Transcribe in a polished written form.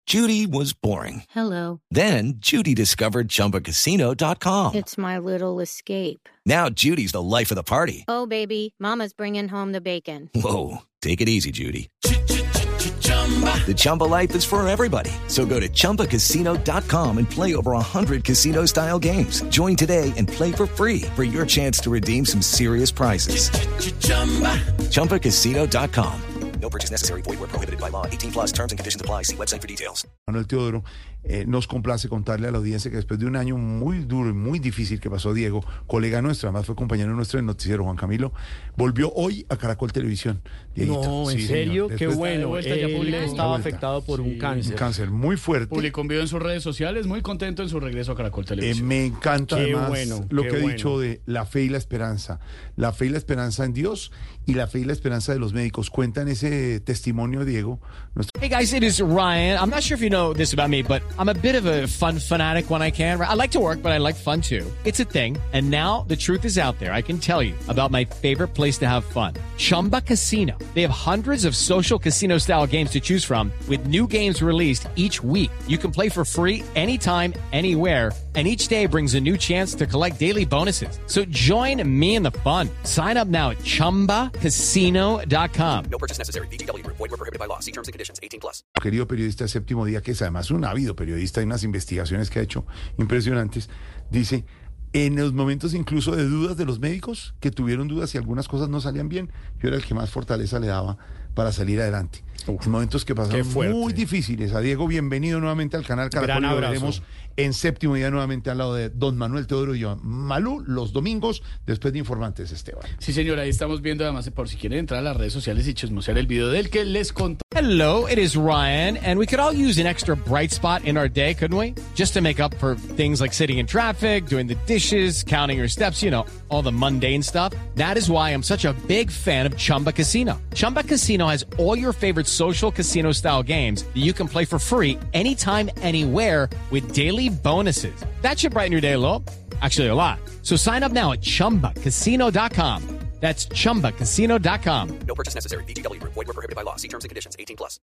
Judy was boring. Hello. Then Judy discovered ChumbaCasino.com. It's my little escape. Now Judy's the life of the party. Oh, baby, mama's bringing home the bacon. Whoa, take it easy, Judy. The Chumba life is for everybody. So go to ChumbaCasino.com and play over 100 casino-style games. Join today and play for free for your chance to redeem some serious prizes. ChumbaCasino.com. No purchase necessary. Void where prohibited by law. 18 plus terms and conditions apply. See website for details. Manuel Teodoro, nos complace contarle a la audiencia que después de un año muy duro y muy difícil que pasó Diego, colega nuestro, además fue compañero nuestro en Noticiero, Juan Camilo, volvió hoy a Caracol Televisión. Dieguito. No, ¿en serio? Qué bueno. Él estaba afectado por un cáncer. Un cáncer muy fuerte. Publicó un video en sus redes sociales, muy contento en su regreso a Caracol Televisión. Me encanta Qué además bueno, lo qué que ha bueno. dicho de la fe y la esperanza. La fe y la esperanza en Dios y la fe y la esperanza de los médicos. Cuentan ese testimonio, Diego. Hey guys, it is Ryan. I'm not sure if you know this about me, but I'm a bit of a fun fanatic when I can. I like to work, but I like fun too. It's a thing. And now the truth is out there. I can tell you about my favorite place to have fun. Chumba Casino. They have hundreds of social casino style games to choose from with new games released each week. You can play for free anytime, anywhere. And each day brings a new chance to collect daily bonuses. So join me in the fun. Sign up now at ChumbaCasino.com. No purchase necessary. VGW Group. Void where prohibited by law. See terms and conditions. 18 plus. Querido periodista de Séptimo Día, que es además un ávido periodista, hay unas investigaciones que ha hecho impresionantes, dice, en los momentos incluso de dudas de los médicos, que tuvieron dudas y algunas cosas no salían bien, yo era el que más fortaleza le daba para salir adelante. En momentos que pasaron muy difíciles. A Diego, bienvenido nuevamente al canal Caracol. Lo veremos en Séptimo Día nuevamente al lado de don Manuel Teodoro y yo. Malú, los domingos, después de Informantes, Esteban. Sí, señora, ahí estamos viendo, además, por si quieren entrar a las redes sociales y chismosear el video del que les contó. Hello, it is Ryan, and we could all use an extra bright spot in our day, couldn't we? Just to make up for things like sitting in traffic, doing the dishes, counting your steps, you know, all the mundane stuff. That is why I'm such a big fan of Chumba Casino. Chumba Casino has all your favorite social casino-style games that you can play for free anytime, anywhere with daily bonuses. That should brighten your day a little. Actually, a lot. So sign up now at ChumbaCasino.com. That's ChumbaCasino.com. No purchase necessary. VGW Group. Void where prohibited by law. See terms and conditions. 18 plus.